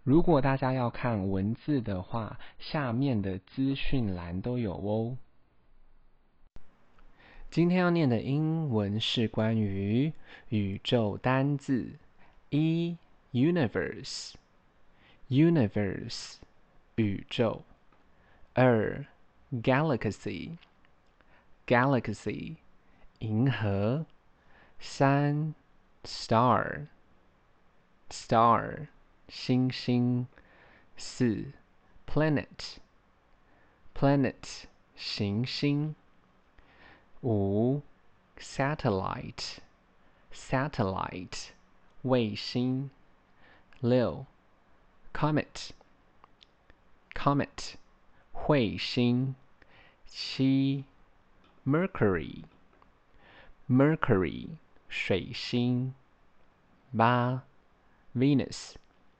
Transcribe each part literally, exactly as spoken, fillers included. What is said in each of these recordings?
如果大家要看文字的話，下面的資訊欄都有哦。今天要念的英文是關於宇宙單字，一 universe universe 宇宙，二 galaxy galaxy 銀河，三 star star 星星，四 planet planet 行星，五 satellite satellite 衛星，六 comet comet 彗星，七 mercury mercury 水星，八 venus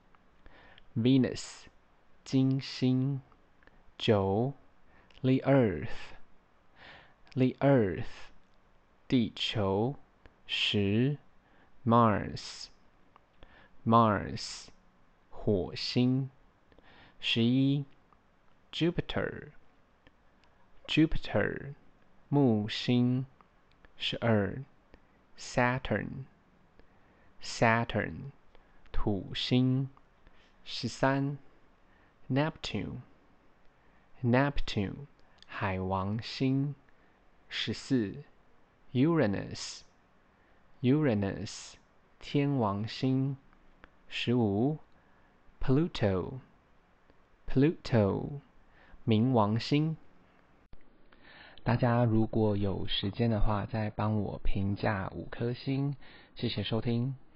venus 金星，九 the earth the earth 地球，十 Mars Mars 火星，十一 Jupiter Jupiter 木星，十二 Saturn Saturn 土星，十三 Neptune Neptune 海王星，十四 Uranus Uranus 天王星，十五 Pluto Pluto 冥王星。大家如果有時間的話，再幫我評價五顆星，謝謝收聽。